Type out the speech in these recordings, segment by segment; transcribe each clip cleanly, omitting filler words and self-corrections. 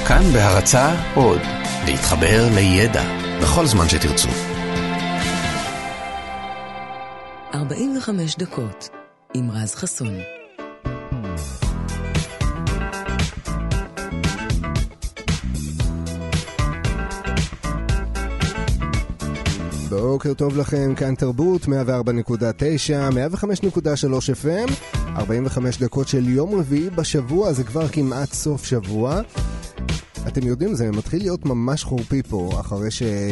כאן בהרצאה עוד, להתחבר לידע בכל זמן שתרצו. 45 דקות עם רז חסון. בוקר טוב לכם, כאן תרבות 104.9, 105.3 FM, 45 דקות של יום רביעי בשבוע, זה כבר כמעט סוף שבוע. אתם יודעים, זה מתחיל להיות ממש חורפי פה, אחרי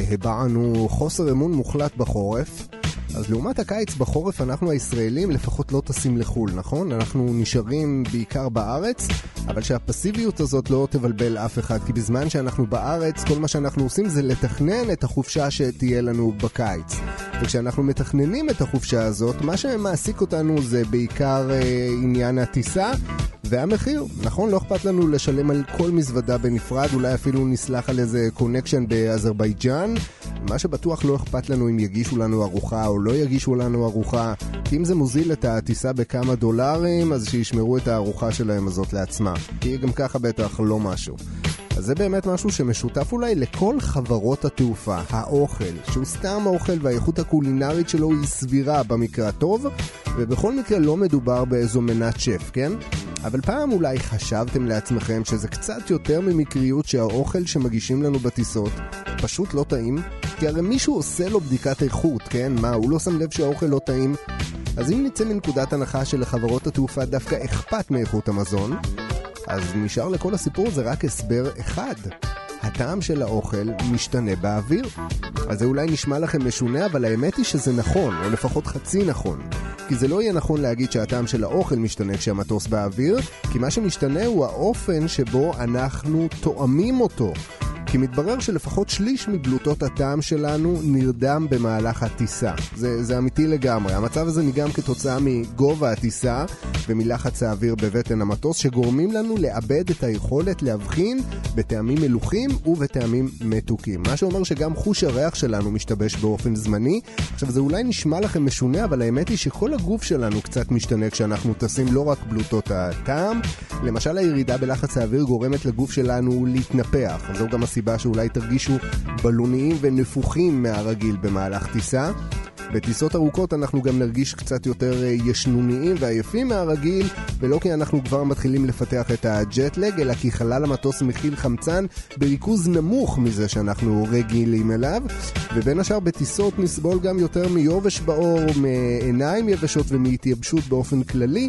שהבענו חוסר אמון מוחלט בחורף. אז לעומת הקיץ בחורף אנחנו הישראלים לפחות לא טסים לחול, נכון? אנחנו נשארים בעיקר בארץ, אבל שהפסיביות הזאת לא תבלבל אף אחד, כי בזמן שאנחנו בארץ כל מה שאנחנו עושים זה לתכנן את החופשה שתהיה לנו בקיץ. וכשאנחנו מתכננים את החופשה הזאת, מה שמעסיק אותנו זה בעיקר עניין הטיסה והמחיר. נכון, לא אכפת לנו לשלם על כל מזוודה בנפרד, אולי אפילו נסלח על איזה קונקשן באזרבייג'אן. מה שבטוח לא אכפת לנו אם יגישו לנו ארוחה או לא יגישו לנו ארוחה, כי אם זה מוזיל את הטיסה בכמה דולרים, אז שישמרו את הארוחה שלהם הזאת לעצמה, כי גם ככה בטח לא משהו. אז זה באמת משהו שמשותף אולי לכל חברות התעופה, האוכל, שהוא סתם האוכל והאיכות הקולינרית שלו היא סבירה במקרה הטוב, ובכל מקרה לא מדובר באיזו מנת שף, כן? אבל פעם אולי חשבתם לעצמכם שזה קצת יותר ממקריות שהאוכל שמגישים לנו בטיסות פשוט לא טעים? כי הרי מישהו עושה לו בדיקת איכות, כן? מה, הוא לא שם לב שהאוכל לא טעים? אז אם נצא מנקודת הנחה שלחברות התעופה דווקא אכפת מאיכות המזון, אז נשאר לכל הסיפור זה רק הסבר אחד. הטעם של האוכל משתנה באוויר. אז זה אולי נשמע לכם משונה, אבל האמת היא שזה נכון, או לפחות חצי נכון. כי זה לא יהיה נכון להגיד שהטעם של האוכל משתנה כשהמטוס באוויר, כי מה שמשתנה הוא האופן שבו אנחנו תואמים אותו. כי מתברר שלפחות שליש מבלוטות הטעם שלנו נרדם במהלך הטיסה. זה אמיתי לגמרי. המצב הזה נגרם כתוצאה מגובה הטיסה ומלחץ האוויר בבטן המטוס, שגורמים לנו לאבד את היכולת להבחין בטעמים מלוכים ובטעמים מתוקים. מה שאומר שגם חוש הריח שלנו משתבש באופן זמני. עכשיו זה אולי נשמע לכם משונה, אבל האמת היא שכל הגוף שלנו קצת משתנה כשאנחנו טסים, לא רק בלוטות הטעם. למשל הירידה בלחץ האוויר גורמת לגוף שלנו להתנפח. זו גם הסיבה שאולי תרגישו בלוניים ונפוחים מהרגיל במהלך טיסה. בטיסות ארוכות אנחנו גם נרגיש קצת יותר ישנוניים ועייפים מהרגיל, ולא כי אנחנו כבר מתחילים לפתח את הג'טלג, אלא כי חלל המטוס מכיל חמצן בריכוז נמוך מזה שאנחנו רגילים אליו. ובין השאר בטיסות נסבול גם יותר מיובש בעור, מעיניים יבשות ומהתייבשות באופן כללי.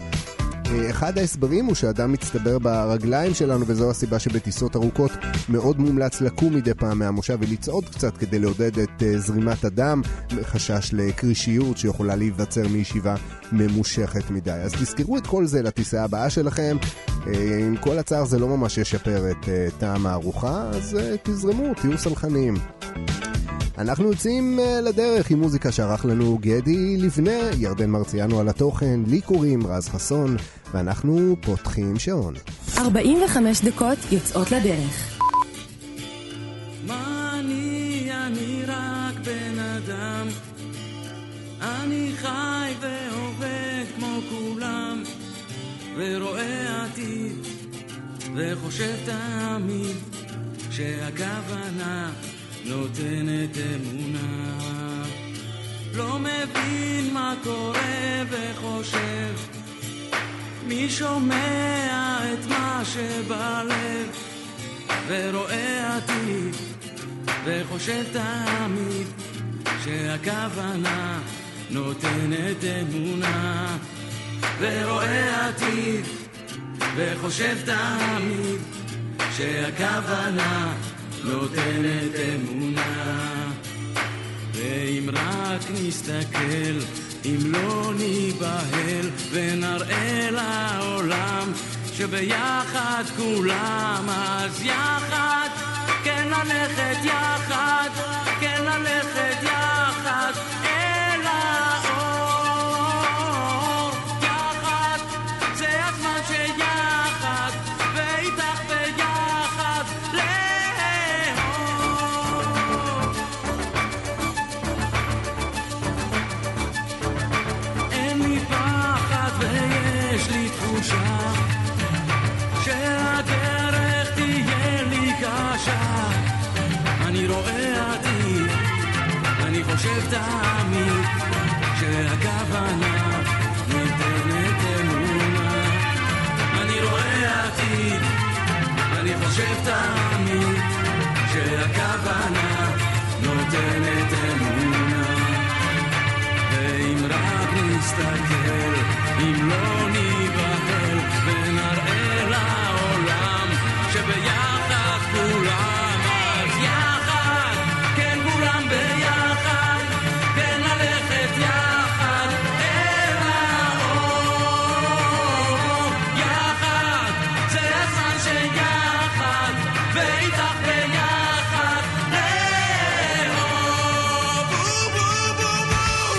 אחד ההסברים הוא שאדם מצטבר ברגליים שלנו, וזו הסיבה שבטיסות ארוכות מאוד מומלץ לקום מדי פעם מהמושב ולצעוד קצת כדי לעודד את זרימת הדם, חשש לקרישיות שיכולה להיווצר מישיבה ממושכת מדי. אז תזכרו את כל זה לטיסה הבאה שלכם. עם כל הצער זה לא ממש ישפר את טעם הארוחה, אז תזרמו, תהיו סלחניים. אנחנו יוצאים לדרך עם מוזיקה שערך לנו גדי לבנה, ירדן מרציאנו על התוכן, לי קוראים רז חסון, ואנחנו פותחים שעון. 45 דקות יוצאות לדרך. מה אני רק בן אדם, אני חי ועובד כמו כולם, ורואה עתיד וחושב תמיד שהכוונה נותנת אמונה. לא מבין מה קורה וחושב, מי שומע את מה שבלב, ורואה עתיד וחושב תמיד שהכוונה נותנת אמונה. ורואה עתיד וחושב תמיד שהכוונה נותנת אמונה. ואם רק נסתכל, אם לא ניבהל, ונראה לעולם שביחד כולם, אז יחד, כן ללכת יחד, כן ללכת יחד אל האור. יחד, זה הזמן שיחד, ואיתך ביחד יש לי תחושה שהדרך תהיה לי תמיד שהכוונה ניתנת אמונה. אני רואה עתיד, אני חושב תמיד שהכוונה נותנת אמונה. ואם רק נסתכל, אם לא ניבהל ונראה לעולם שביחד כולם, אז יחד, כן כולם ביחד, כן ללכת יחד אל האור. יחד, זה הזמן שיחד, ואיתך ביחד לאור. בו בו בו בו.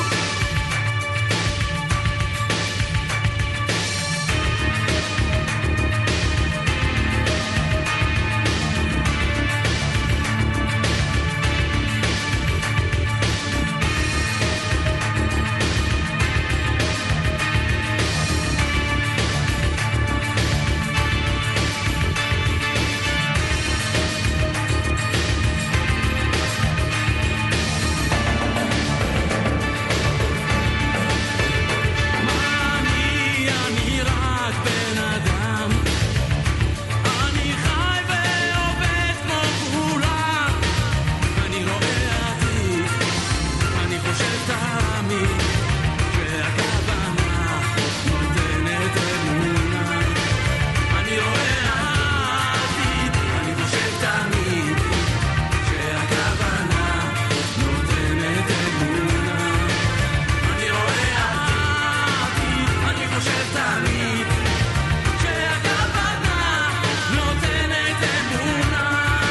אני רק בן אדם, אני חי ועובד כמו כולם. אני רואה עתיד, אני חושב תמיד שהכוונה נותנת אמונה. אני רואה עתיד, אני חושב תמיד שהכוונה נותנת אמונה. אני רואה עתיד, אני חושב תמיד שהכוונה נותנת אמונה.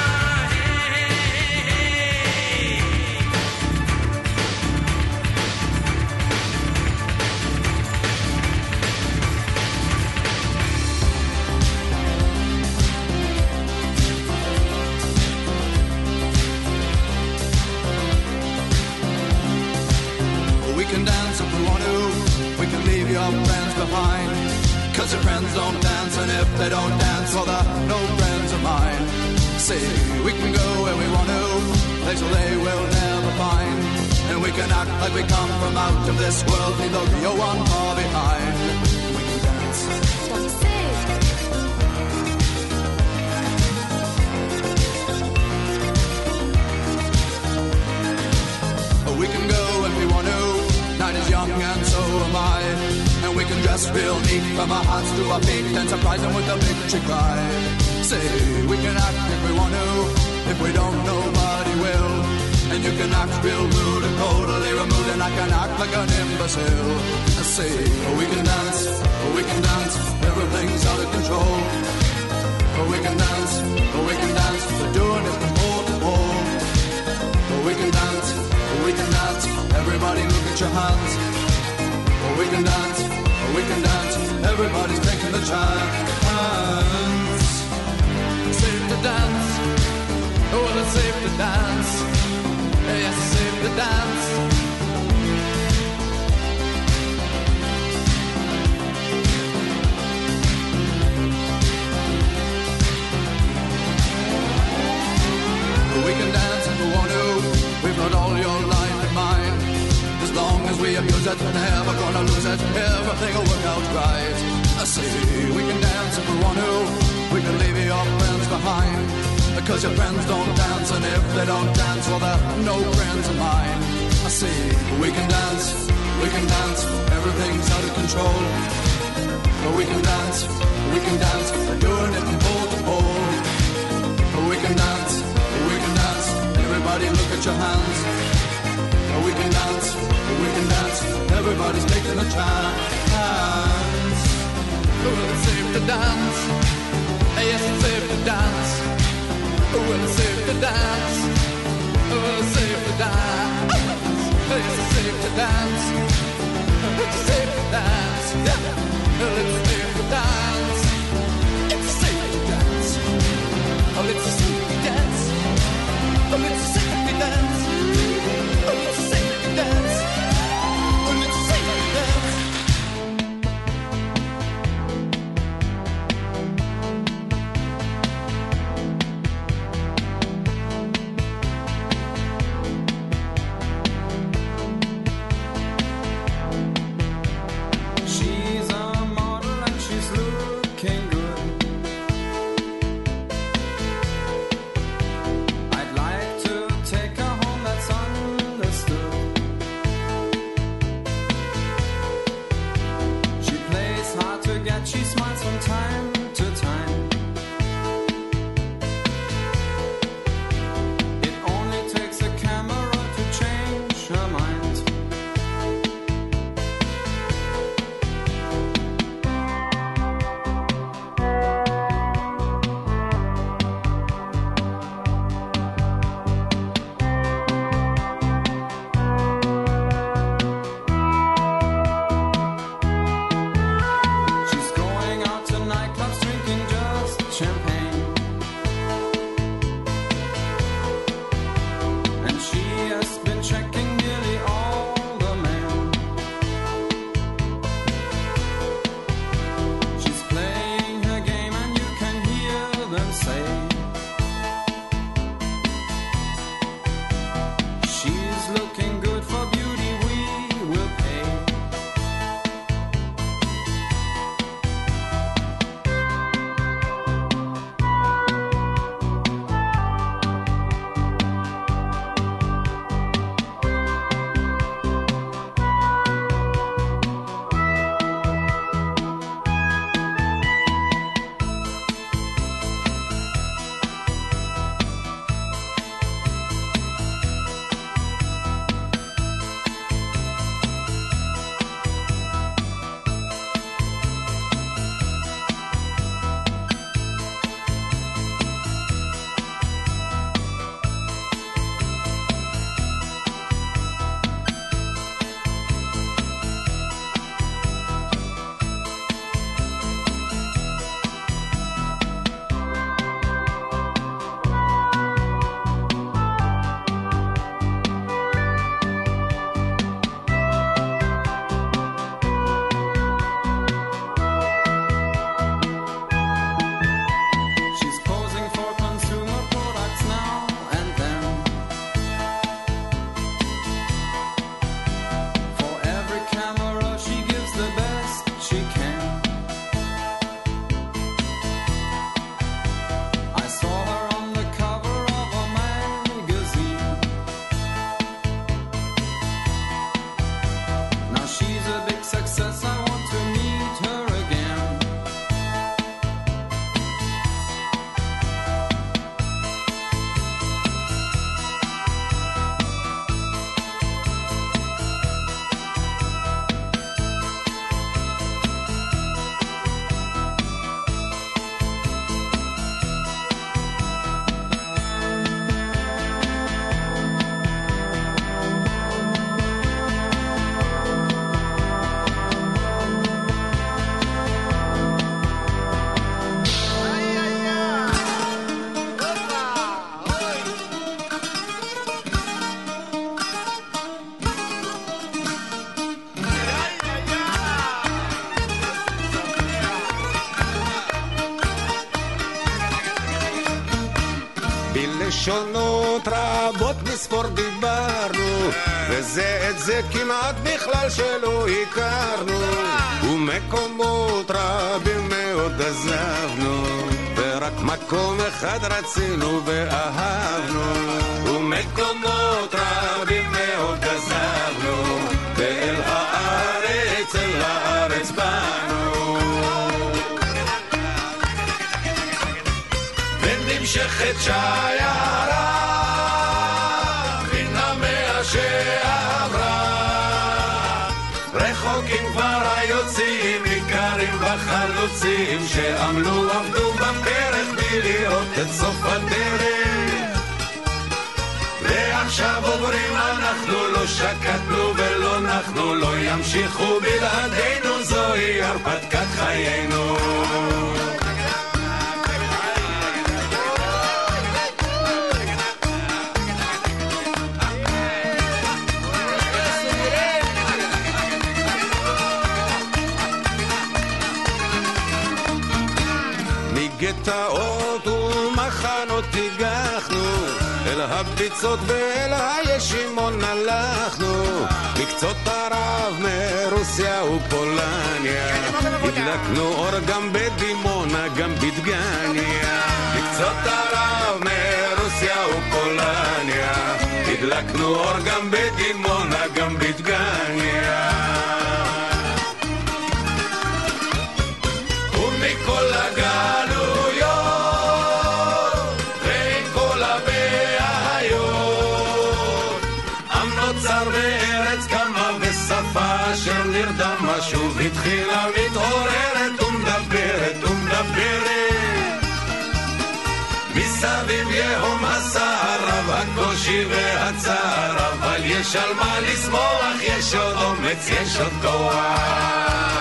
We can dance if we want to. We can leave your friends behind. 'Cause your friends don't dance, and if they don't dance, well, they're no friends of mine. See, we can go where we want to, places they will never find. And we can act like we come from out of this world, leave the real one far behind. We can dance. We can go if we want to. Night is young and so am I. And we can dress real neat from our hearts to our feet and surprise them with a big chick ride. Say, we can act if we want to. If we don't, nobody will. And you can act real rude and totally removed, and I can act like an imbecile. Say, we can dance, everything's out of control. We can dance, we're doing it from pole to pole. We can dance, everybody look at your hands. We can dance, everybody's taking the chance. Safe to dance, well it's safe to dance. Yes, it's safe to dance. We can dance if we want to. We've got all your life in mind. As long as we abuse it, never gonna lose it. Everything will work out right. I say we can dance if we want to. We can leave your friends behind. Because your friends don't dance, and if they don't dance, well, they're no friends of mine. I say we can dance, everything's out of control. But we can dance, we're doing it from pole to pole. We can dance, everybody look at your hands. We can dance, everybody's taking a chance. Well, it's safe to dance, yes, it's safe to dance. Well, it's safe to dance, well, it's safe to dance. Yes, it's safe to dance, it's safe to dance. Yeah, well, it's safe to dance, it's safe to dance. Oh, it's safe to dance. Oh, it's safe to dance. Oh, it's safe to dance. Oh, it's safe to dance. them say. She's looking good for beauty, we will pay. בלשונות רבות מספור דיברנו, וזה את זה כמעט בכלל שלא הכרנו, ומקומות רבים מאוד עזבנו, ורק מקום אחד רצינו ואהבנו, ומקומות רבים מאוד עזבנו, ואל הארץ, אל הארץ באנו. ונמשכת שיירה מן המאה שעברה, רחוקים כבר היוצאים, ניכרים בחלוצים שעמלו עבדו בפרק בלי לראות את סוף הדרך, ועכשיו עוברים אנחנו, לא שקטנו ולא נחנו, לא ימשיכו בלעדינו, זוהי הרפתקת חיינו. גטאות ומחנות הגחנו, אל הביצות ואל הישימון הלכנו, מקצות ערב מרוסיה ופולניה, הדלקנו אור גם בדימונה גם בדגניה, מקצות ערב מרוסיה ופולניה, הדלקנו אור גם בדימונה גם בדגניה. ומכל הגלויות ועם כל הבעיות, עם נוצר בארץ קמה ושפה אשר נרדמה שוב התחילה מתעוררת ומדברת ומדברת, מסביב יהום הסער רב הקושי והצער, אבל יש על מה לשמוח, יש עוד אומץ, יש עוד כוח.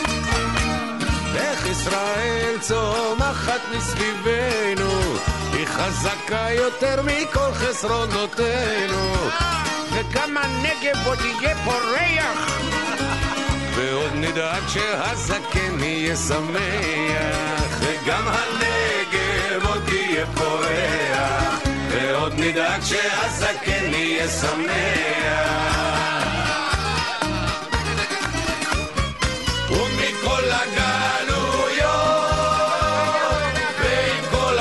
צומחת מסביבנו, היא חזקה יותר מכל חסרונותינו, וגם הנגב עוד יהיה פורח, ועוד נדאג שהזקן יהיה שמח, וגם הנגב עוד יהיה פורח, ועוד נדאג שהזקן יהיה שמח. ומכל הגלויות ועם כל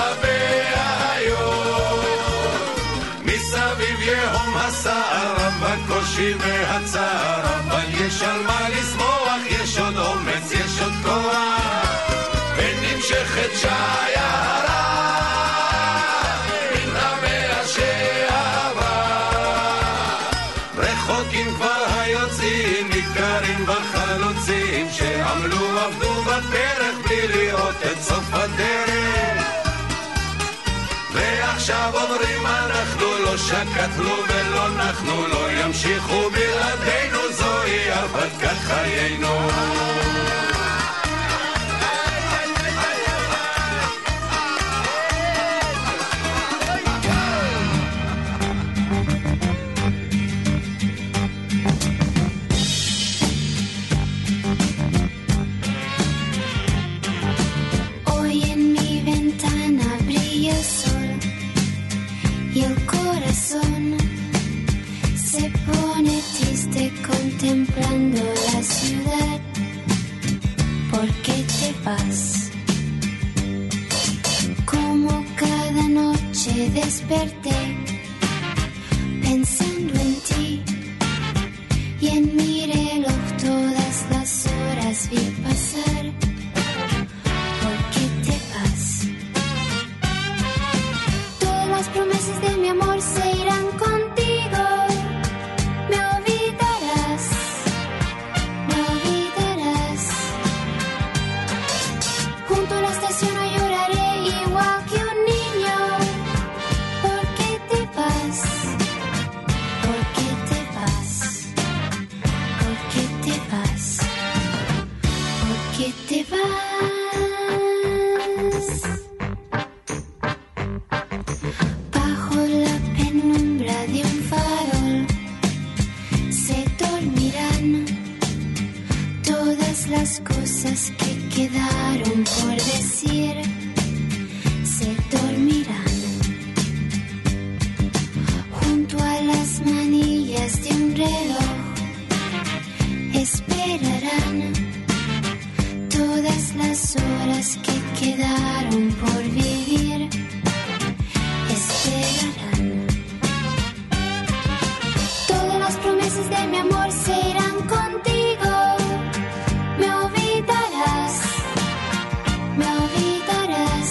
הבעיות מסביב יהום הסער בקושי והצער, אבל יש על מה לשמוח, יש עוד אומץ, יש עוד כוח, ונמשכת שיירה מן המאה שעברה. רחוקים כבר היוצאים, ניכרים בחלוצים שעמלו עבדו בפרק בלי לראות את סוף הדרך, ועכשיו אומרים אנחנו לא שקטנו ולא נחנו, לא ימשיכו בלעדינו, זוהי הרפתקת חיינו. Se pone triste contemplando la ciudad. ¿Por qué te vas? Como cada noche desperté pensando en ti, y en mi reloj todas las horas vi pasar. ¿Por qué te vas? Todas las promesas de mi amor se irán contigo. Me olvidarás, me olvidarás. Junto a la estación no lloraré igual que un niño. ¿Por qué te vas? ¿Por qué te vas? ¿Por qué te vas? ¿Por qué te vas? Bajo la penumbra de un farol se dormirán todas las cosas que quedaron por decir. Se dormirán junto a las manillas de un reloj. Esperarán todas las horas que quedaron por vivir. Esperarán. Todas las promesas de mi amor se irán contigo. Me olvidarás, me olvidarás.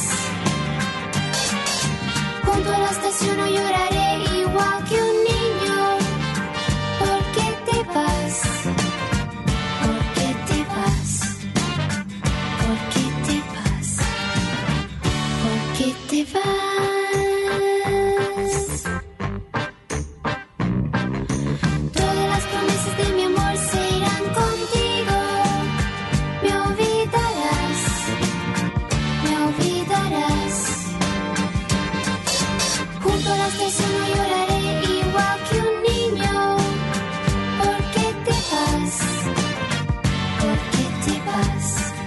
Junto a la estación no lloraré igual que un niño. ¿Por qué te vas? ¿Por qué te vas? ¿Por qué te vas? ¿Por qué te vas? Todas las promesas de mi amor se irán contigo. Me olvidarás, me olvidarás. Junto a la estación no lloraré igual que un niño. ¿Por qué te vas? ¿Por qué te vas?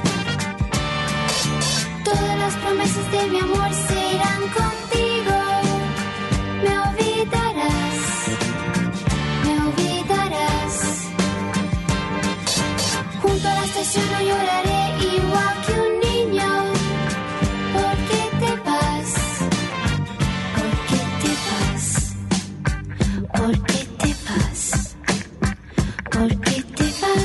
Todas las promesas de mi amor se irán contigo. Me olvidarás, me olvidarás. Junto a la estación no lloraré igual que un niño. ¿Por qué te vas? ¿Por qué te vas? ¿Por qué te vas? ¿Por qué te vas?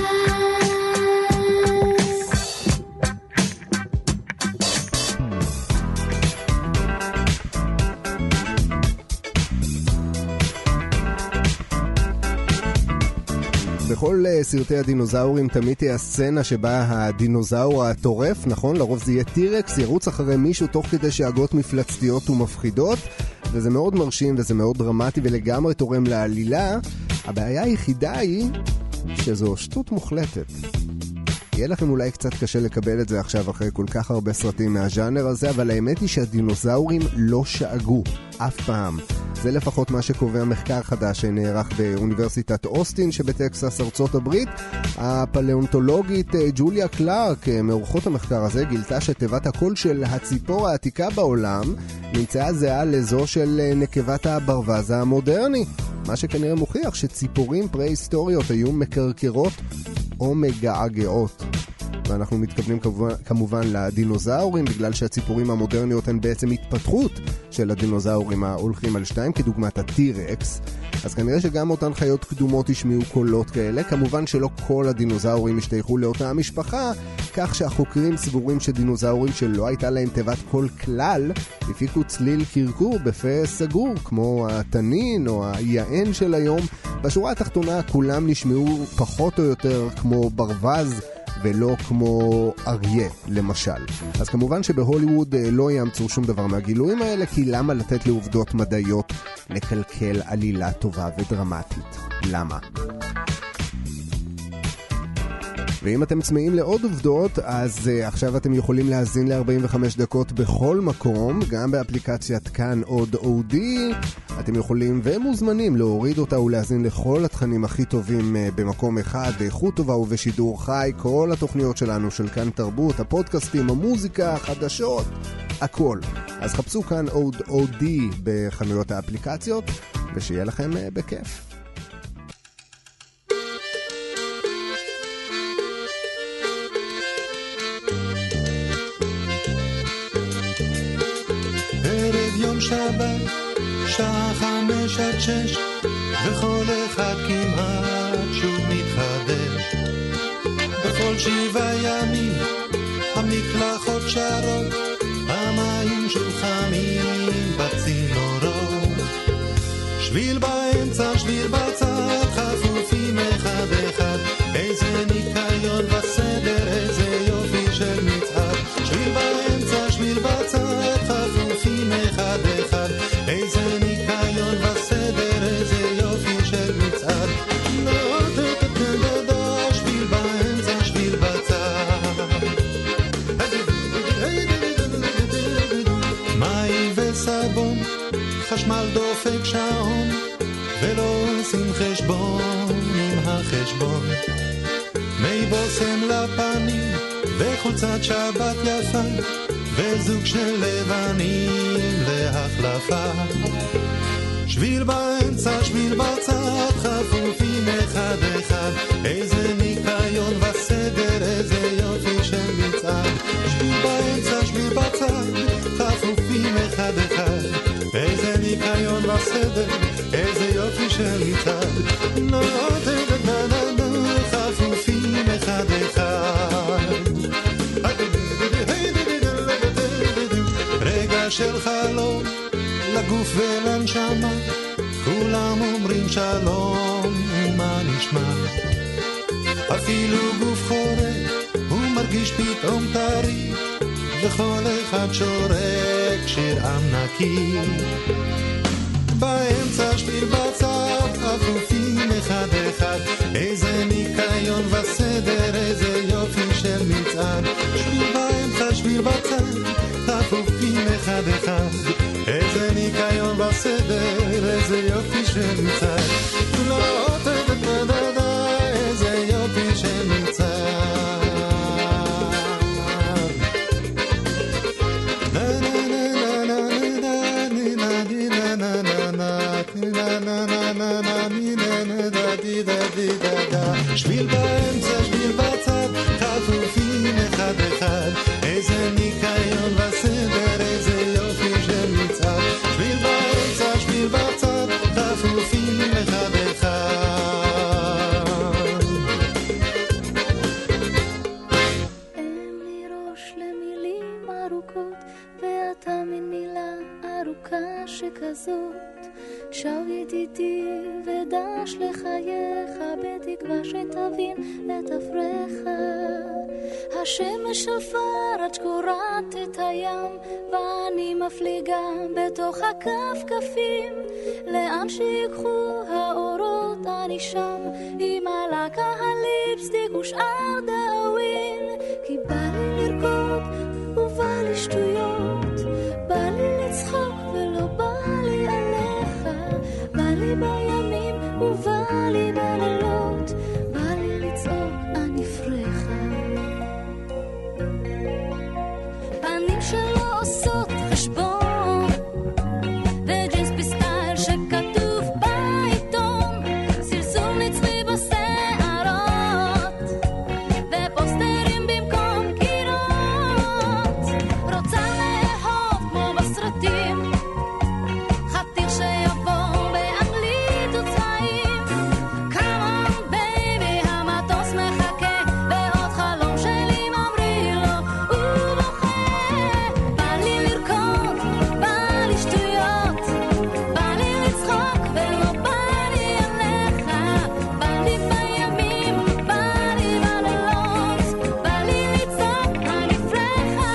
בכל סרטי הדינוזאורים תמיד תהיה הסצנה שבה הדינוזאור הטורף, נכון? לרוב זה יהיה טירקס, ירוץ אחרי מישהו תוך כדי שאגות מפלצתיות ומפחידות, וזה מאוד מרשים וזה מאוד דרמטי ולגמרי תורם לעלילה. הבעיה היחידה היא שזו שטות מוחלטת. יהיה לכם אולי קצת קשה לקבל את זה עכשיו אחרי כל כך הרבה סרטים מהז'אנר הזה, אבל האמת היא שהדינוזאורים לא שאגו אף פעם. זה לפחות מה שקובע מחקר חדש שנערך באוניברסיטת אוסטין שבטקסס ארצות הברית. הפלאונטולוגית ג'וליה קלארק מאורחות המחקר הזה גילתה שתיבת הקול של הציפור העתיקה בעולם נמצאה זהה לזו של נקבת הברווז המודרני, מה שכנראה מוכיח שציפורים פרה-היסטוריות היו מקרקרות או מגעגעות. ואנחנו מתכוונים כמובן לדינוזאורים, בגלל שהציפורים המודרניות הן בעצם התפתחות של הדינוזאורים ההולכים על שתיים, כדוגמת הטירקס. אז כנראה שגם אותן חיות קדומות ישמיעו קולות כאלה. כמובן שלא כל הדינוזאורים השתייכו לאותה המשפחה, כך שהחוקרים סבורים שדינוזאורים שלא הייתה להם תיבת קול כלל, הפיקו צליל קרקור בפה סגור, כמו התנין או היען של היום. בשורה התחתונה כולם נשמעו פחות או יותר כמו ברווז, ולא כמו אריה, למשל. אז כמובן שבהוליווד לא יאמצו שום דבר מהגילויים האלה, כי למה לתת לעובדות מדעיות לקלקל עלילה טובה ודרמטית? למה? ואם אתם צמאים לעוד עובדות, אז עכשיו אתם יכולים להאזין ל-45 דקות בכל מקום, גם באפליקציית כאן עוד אודי. אתם יכולים ומוזמנים להוריד אותה ולהאזין לכל התכנים הכי טובים במקום אחד, באיכות טובה ובשידור חי, כל התוכניות שלנו של כאן תרבות, הפודקאסטים, המוזיקה, החדשות, הכל. אז חפשו כאן עוד אודי בחנויות האפליקציות, ושיהיה לכם בכיף. שבת, שעה 5-6, וכל אחד כמעט שוב מתחדש. בכל 7 ימים המקלחות שרות, המים שוב חמים בצינורות. שביל באמצע, שביל בצד, חפופים אחד אחד, איזה ניקיון וסדר, איזה יופי של מצעד. שביל באמצע, שביל בצד, חפופים אחד אחד, איזה ניקיון וסדר, איזה יופי של מצעד. שביל באמצע, שביל בצד, מים וסבון, חשמל דופק שעון, ולא עושים חשבון עם החשבון. מי בוסם לפנים וחולצת שבת יפה, וזוג של לבנים להחלפה. שביל באמצע, שביל בצד, חפופים אחד אחד, איזה ניקיון וסדר, איזה יופי של מצעד. שביל באמצע, שביל בצד, חפופים אחד אחד, איזה ניקיון וסדר, איזה יופי של מצעד. חפופים אחד אחד, רגע של חלום לגוף ולנשמה, כולם אומרים שלום ומה נשמע. אפילו גוף חורק הוא מרגיש פתאום טרי, וכל אחד שורק שיר עם נקי. באמצע שביל בצד, חפופים אחד אחד, איזה ניקיון וסדר, איזה יופי של מצעד. שביל באמצע, שביל בצד, חפופים אחד אחד, איזה ניקיון וסדר, איזה יופי של מצעד. לא תדדה, איזה יופי של מצעד. שביל באמצע, שביל בצד, חפופים אחד אחד, איזה ניקיון וסדר, איזה יופי של מצעד. שביל באמצע, שביל בצד, חפופים אחד אחד. אין לי ראש למילים ארוכות, ואתה מין מילה ארוכה שכזאת. שב ידידי ודש לחייך, בתקווה שתבין את אפריך. השמש עפר עד שקורת את הים, ואני מפליגה בתוך הכפכפים. לאן שיקחו האורות אני שם עם הלקה הליפסטיק ושאר דאווין, כי בא לי לרקוד ובא לי שטויות, בא לי לצחוק ולא בא לי עליך, בא לי בימים ובא לי בלילות, בא לי לצעוק אני פרחה. פנים שלא עושות חשבון וג'ינס בסטייל שכתוב בעיתון, סלסול נצמי בשערות ופוסטרים במקום קירות, רוצה לאהוב כמו בסרטים, חתיך שיבוא באנגלית וצעים, come on baby המטוס מחכה ועוד חלום שלי ממריא לו ובוכה, בא לי לרקוד, בא לי שטויות, בא לי לצחוק ולא בא לי עליך, בא לי בימים, בא לי בלילות, בא לי לצעוק אני פרחה.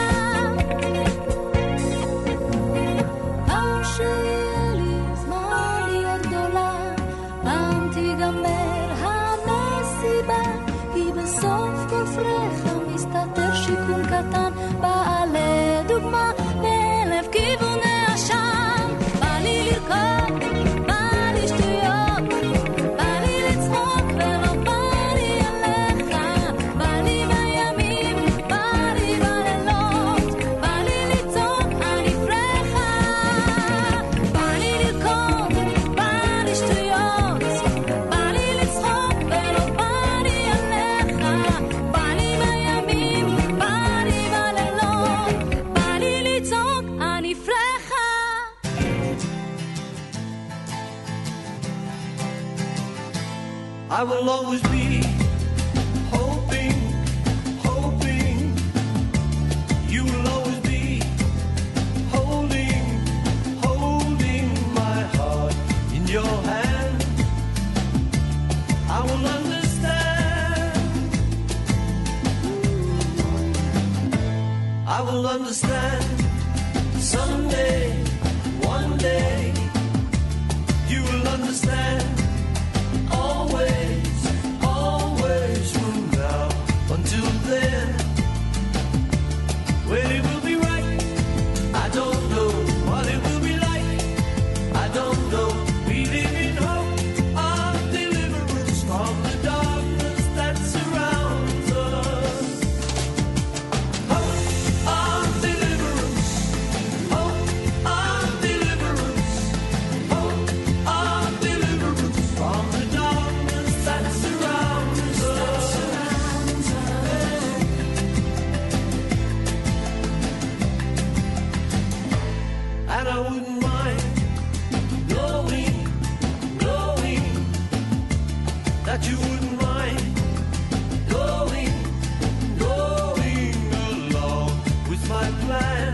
פעם שיהיה לי זמן להיות גדולה, פעם תיגמר המסיבה, כי בסוף כל פרחה מסתתר שיקום קטן, באה לדוגמה מאלף כיווני השם, בא לי לרקוד, בא לי שטויות, בא לי לצחוק ולא בא לי עליך, בא לי בימים, בא לי בלילות, בא לי לצעוק אני פרחה. בא לי לרקוד, בא לי שטויות, בא לי לצחוק ולא בא לי עליך, בא לי בימים, בא לי בלילות, בא לי לצעוק אני פרחה. I will always be hoping, hoping. You will always be holding, holding my heart in your hand. I will understand. I will understand someday, one day. You will understand. Always, always from now until then. When it will be right, I don't know what it will be like. I don't know. We live in hope of deliverance from the darkness that surrounds us. Hope of deliverance. Hope of deliverance. Hope of deliverance from the darkness that surrounds us. And I wouldn't mind knowing, knowing that you wouldn't mind going, going along with my plan.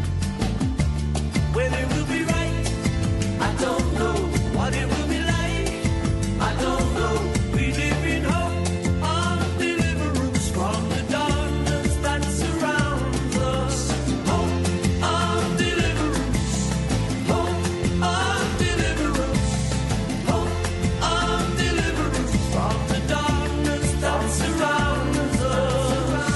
When it will be right, I don't know what it will be like. I don't know. We live in hope of deliverance from the darkness that surrounds us. Hope of deliverance. Hope of deliverance. Hope of deliverance from the darkness that surrounds us.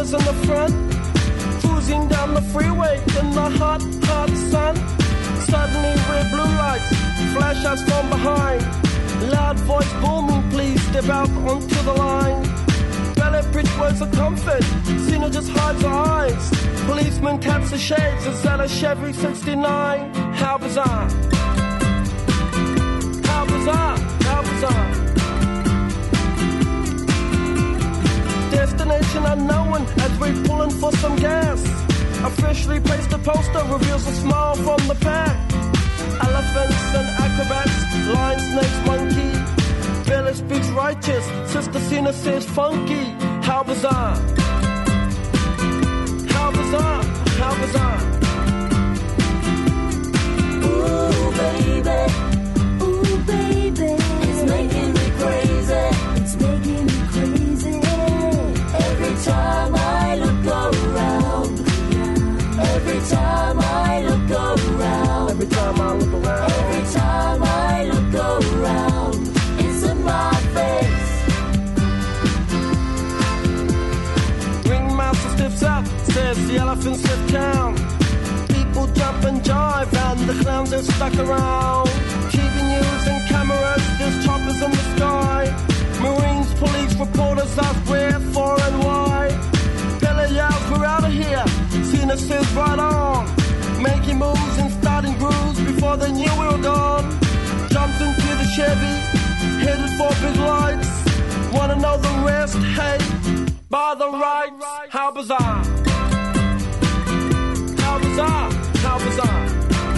was in the front, cruising down the freeway in the hot, hot sun. Suddenly red blue lights flash us from behind. Loud voice booming, please step out onto the line. Ballet bridge words of comfort, Cena just hides her eyes. Policeman taps the shades, is that a Chevy 69? How bizarre. How bizarre, how bizarre. Destination unknown as we're pulling for some gas. Officially placed a poster, reveals a smile from the pack. Elephants and acrobats, lion, snakes, monkey. Billy speaks righteous, Sister Cena says funky. How bizarre. How bizarre, how bizarre. Ooh, baby. Ooh, baby. It's making me crazy. It's making me crazy. Every time I look around. Every time I look around. Every time I look around. Every time I look around. It's in my face. Ringmaster steps up, says the elephants have town. People jump and jive and the clowns are stuck around. TV news and cameras, there's choppers in the sky. Marines, police, reporters ask where, for and why. Billy yells, we're out of here. Cena says right on. Making moves and starting grooves before they knew we were gone. Jumped into the Chevy, headed for big lights. Wanna know the rest? Hey, by the rights. How bizarre. How bizarre. How bizarre.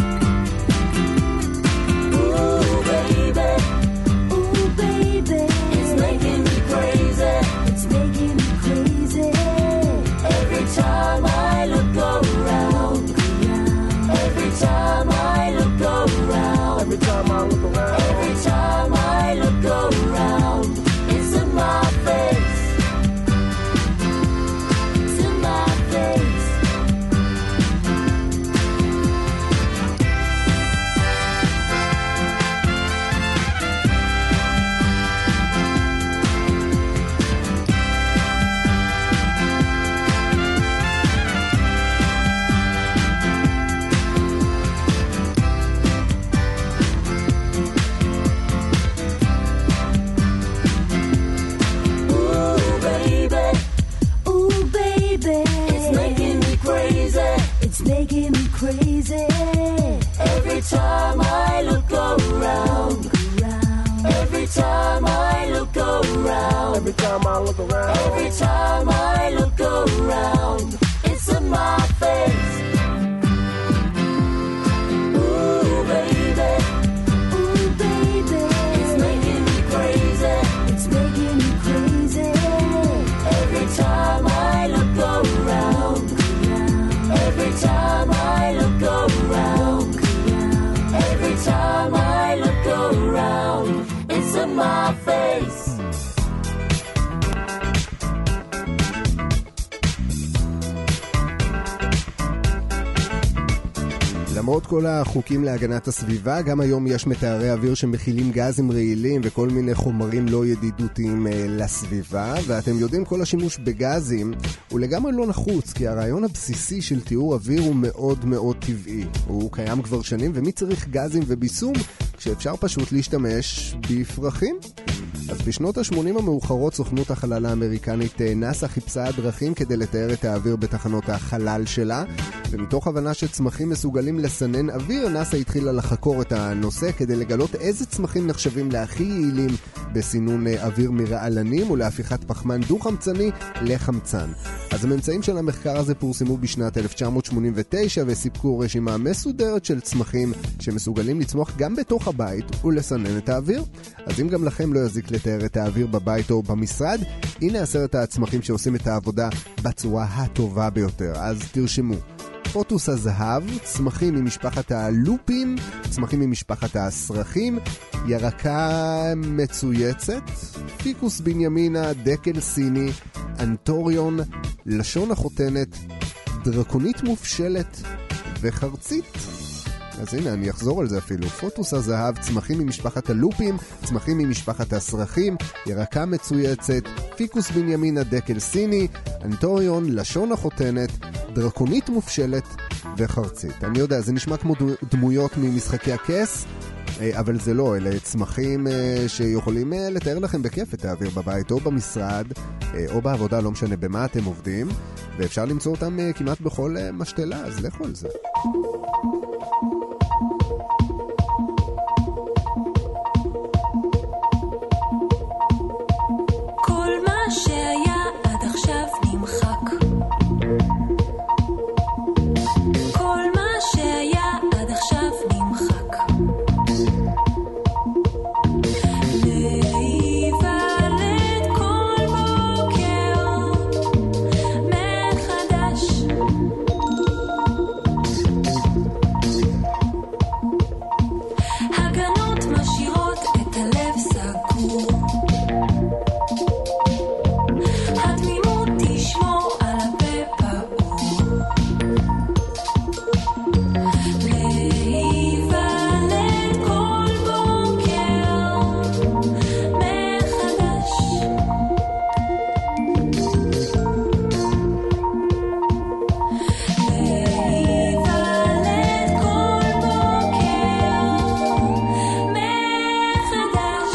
Ooh, baby. Ooh, baby. It's making me crazy. It's making me crazy. Every time I look around. Every time I look around. Every time I look around. Every time I look around. It's in my face. It's in my face. It's making me crazy. Every time I look around. Every time I look around. Every time I look around. Every time I look around. It's in my face. Ooh, baby. Ooh, baby. It's making me crazy. It's making me crazy. Every time I look around. Every time I look around. Every time I look around. It's in my face. למרות כל החוקים להגנת הסביבה, גם היום יש מטהרי אוויר שמכילים גזים רעילים וכל מיני חומרים לא ידידותיים לסביבה, ואתם יודעים, כל השימוש בגזים הוא לגמרי לא נחוץ, כי הרעיון הבסיסי של טיהור אוויר הוא מאוד מאוד טבעי. הוא קיים כבר שנים, ומי צריך גזים וביסום כשאפשר פשוט להשתמש בפרחים? אז בשנות ה-80 המאוחרות סוכנות החלל האמריקנית נאס"א חיפשה דרכים כדי לתאר את האוויר בתחנות החלל שלה, ומתוך הבנה שצמחים מסוגלים לסנן אוויר, נאס"א התחילה לחקור את הנושא כדי לגלות איזה צמחים נחשבים להכי יעילים בסינון אוויר מרעלנים ולהפיכת פחמן דו-חמצני לחמצן. אז הממצאים של המחקר הזה פורסמו בשנת 1989 וסיפקו רשימה מסודרת של צמחים שמסוגלים לצמוח גם בתוך הבית ולסנן את האוויר. אז אם גם לכם לא יזיק לתאר את האוויר בבית או במשרד, הנה 10 הצמחים שעושים את העבודה בצורה הטובה ביותר. אז תרשמו: פוטוס הזהב, צמחים ממשפחת הלופים, צמחים ממשפחת הסרחים, ירקה מצויצת, פיקוס בנימינה, דקל סיני, אנטוריון, לשון החותנת, דרקונית מופשלת וחרצית. אז הנה, אני אחזור על זה אפילו. פוטוס הזהב, צמחים ממשפחת הלופים, צמחים ממשפחת הסרחים, ירקה מצויצת, פיקוס בנימין הדקל סיני, אנטוריון, לשון החותנת, דרקונית מופשלת וחרצית. אני יודע, זה נשמע כמו דמויות ממשחקי הכס, אבל זה לא, אלה צמחים שיכולים לתאר לכם בכיף את האוויר בבית או במשרד או בעבודה, לא משנה במה אתם עובדים, ואפשר למצוא אותם כמעט בכל משתלה, אז לכו על זה. כל מה שהיה עד עכשיו נמחק, כל מה שהיה עד עכשיו נמחק, להיוולד כל בוקר מחדש, הגנות משאירות את הלב סגור, התמימות תשמור על הפה פעור, להיוולד כל בוקר מחדש, להיוולד כל בוקר מחדש.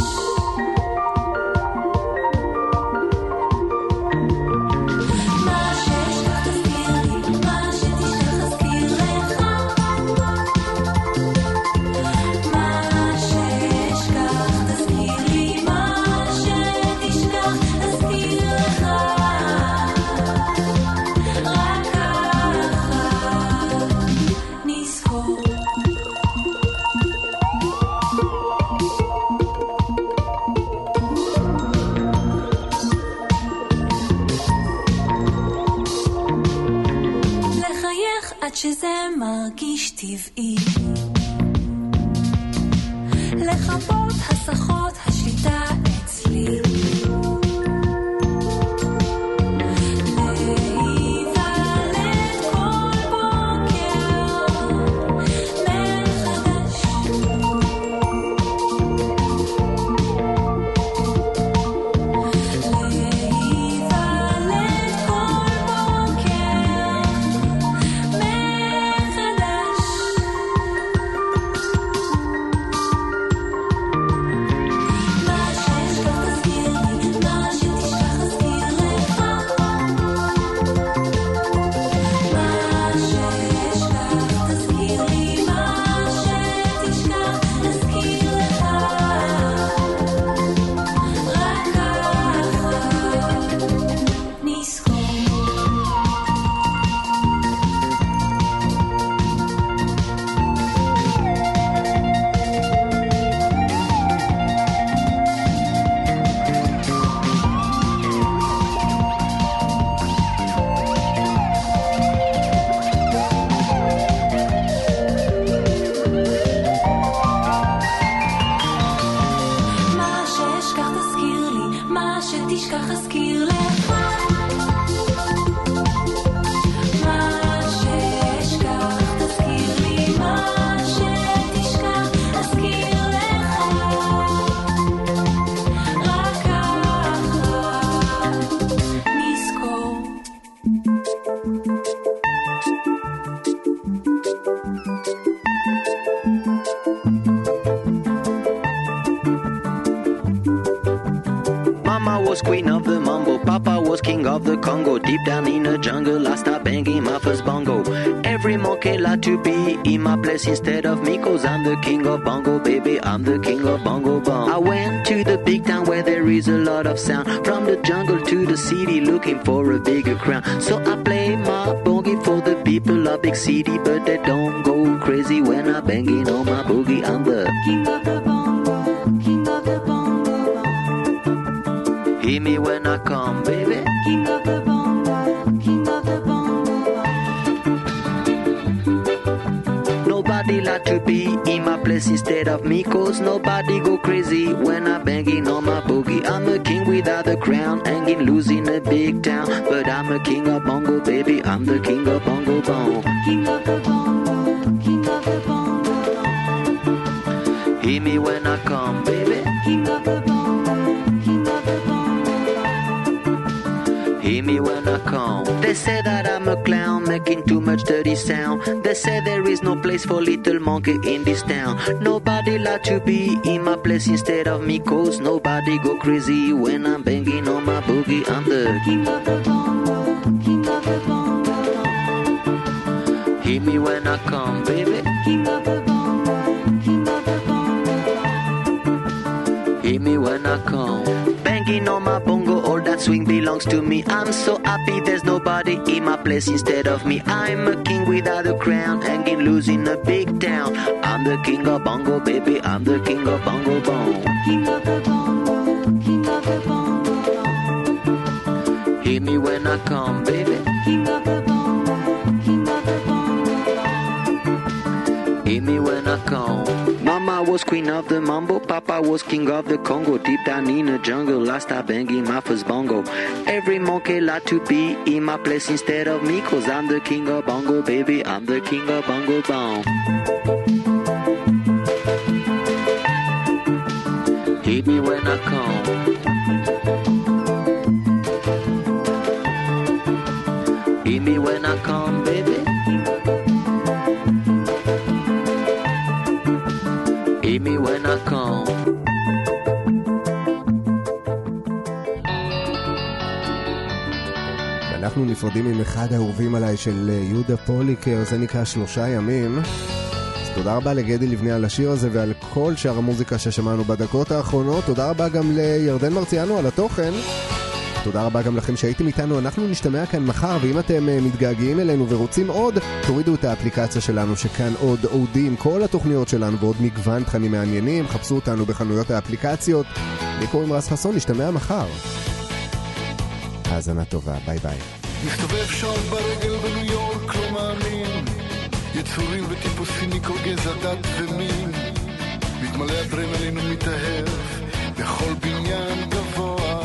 מה שאשכח תזכיר לי, מה שתשכח אזכיר לך, מה שאשכח תזכיר לי, מה שתשכח אזכיר לך, רק ככה נזכור. לחייך עד שזה מרגיש טבעי, לחפות הסחות השליטה אצלי, להיוולד כל בוקר מחדש, להיוולד כל בוקר מחדש. מה שאשכח תזכיר לי, מה שתשכח אזכיר לך, מה שאשכח תזכיר לי, מה שתשכח אזכיר לך, רק ככה נזכור. מה שאשכח תזכיר לי, מה שתשכח אזכיר לך, מה שאשכח תזכיר לי, מה שתשכח אזכיר לך, רק ככה נזכור. Mama was queen of the mambo, Papa was king of the Congo. Deep down in the jungle, I start banging my first bongo. Every monkey like to be in my place instead of me, 'cause I'm the king of bongo, baby, I'm the king of bongo bong. I went to the big town where there is a lot of sound, from the jungle to the city looking for a bigger crown. So I play my boogie for the people of big city, but they don't go crazy when I banging on my boogie. I'm the King of the bongo, king of the bongo bong. hear me when I come, baby. King of the bongo, king of the bongo bong. Nobody like to be in my place instead of me, 'cause nobody go crazy when I'm banging on my boogie. I'm a king without a crown, hanging loose in a big town, but I'm a king of bongo, baby, I'm the king of bongo bong. King of the bongo, king of the bongo Hear me when I come, baby. King of the bongo, king of the bongo. Hear me when I come. They say that I'm a clown making too much dirty sound. They say there is no place for little monkey in this town. Nobody like to be in my place instead of me, cause nobody go crazy when I'm banging on my boogie. I'm the king of the bongo, king of the bongo. Hear me when I come, baby. King of the bongo, king of the bongo. Hear me when I come. Banging on my bongo, all that swing belongs to me. I'm so happy there's nobody in my place instead of me. I'm a king without a crown, hanging loose in a big town. I'm the king of bongo, baby. I'm the king of bongo bong. King of the bongo, king of the bongo. Hear me when I come, baby. King of the bongo, king of the bongo. Hear me when I come. Mama was queen of the mambo, Papa was king of the Congo. Deep down in the jungle, I start banging my first bongo. Every monkey like to be in my place instead of me, cause I'm the king of bongo, baby. I'm the king of bongo bong. Hear me when I come. Hear me when I come, baby. Hear me when I come. אנחנו נפרדים עם אחד האהובים עליי של יהודה פוליקר, זה נקרא 3 ימים. אז תודה רבה לגדי לבני על השיר הזה ועל כל שאר המוזיקה ששמענו בדקות האחרונות. תודה רבה גם לירדן מרציאנו על התוכן. תודה רבה גם לכם שהייתם איתנו. אנחנו נשתמע כאן מחר, ואם אתם מתגעגעים אלינו ורוצים עוד, תורידו את האפליקציה שלנו שכאן עוד אודי עם כל התוכניות שלנו ועוד מגוון תכנים מעניינים. חפשו אותנו בחנויות האפליקציות. לי קוראים רז חסון, נשתמע מחר. האזנה טובה, ביי ביי. מסתובב שעות ברגל בניו יורק, לא מאמין, יצורים וטיפוסים מכל גזע, דת ומין, מתמלא אדרנלין ומתאהב בכל בניין גבוה.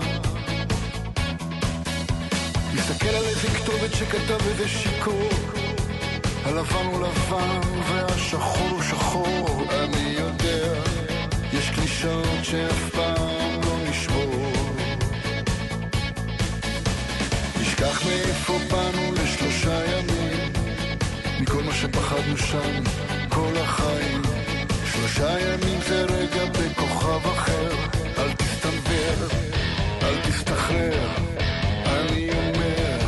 מסתכל על איזה כתובת שכתב איזה שיקור, הלבן הוא לבן והשחור הוא שחור. אני יודע, יש קלישאות שאף פעם לא נשבור. נשכח מאיפה באנו ל3 ימים, מכל מה שפחדנו שם כל החיים. 3 ימים זה רגע בכוכב אחר, אל תסתנבר, אל תסתחרר, אני אומר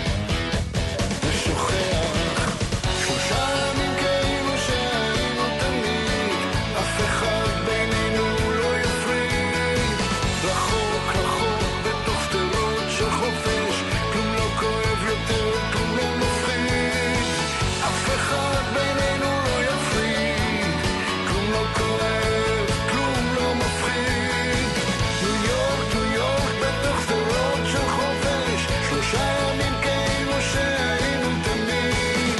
ושוכח. 3 ימים כאילו שהיינו תמיד, אף אחד בינינו לא יפריד. רחוק רחוק בתוך שדרות של חופש, כלום לא כואב יותר, כלום לא מפחיד. אף אחד בינינו לא יפריד, כלום לא כואב, כלום לא מפחיד. ניו יורק, ניו יורק בתוך שדרות של חופש, 3 ימים כאילו שהיינו תמיד.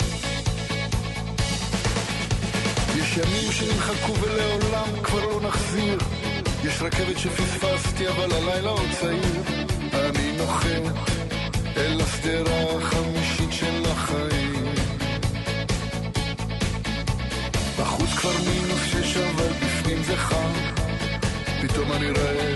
יש ימים שנמחקו ולעולם כבר לא נחזיר. יש רכבת שפספסתי אבל הלילה עוד צעיר. אני נוחת אל הסדרה החמישית של החיים. בחוץ כבר -6 אבל בפנים זה חם. פתאום אני רעב